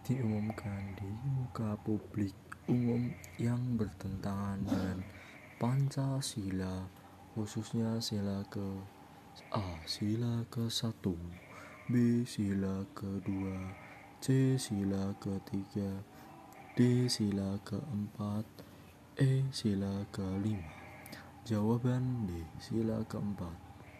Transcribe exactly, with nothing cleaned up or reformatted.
diumumkan di muka publik umum yang bertentangan dengan Pancasila, khususnya sila ke A. Sila ke satu, B. Sila kedua, C. Sila ketiga, D. Sila keempat, E. Sila kelima. Jawaban D. Sila keempat.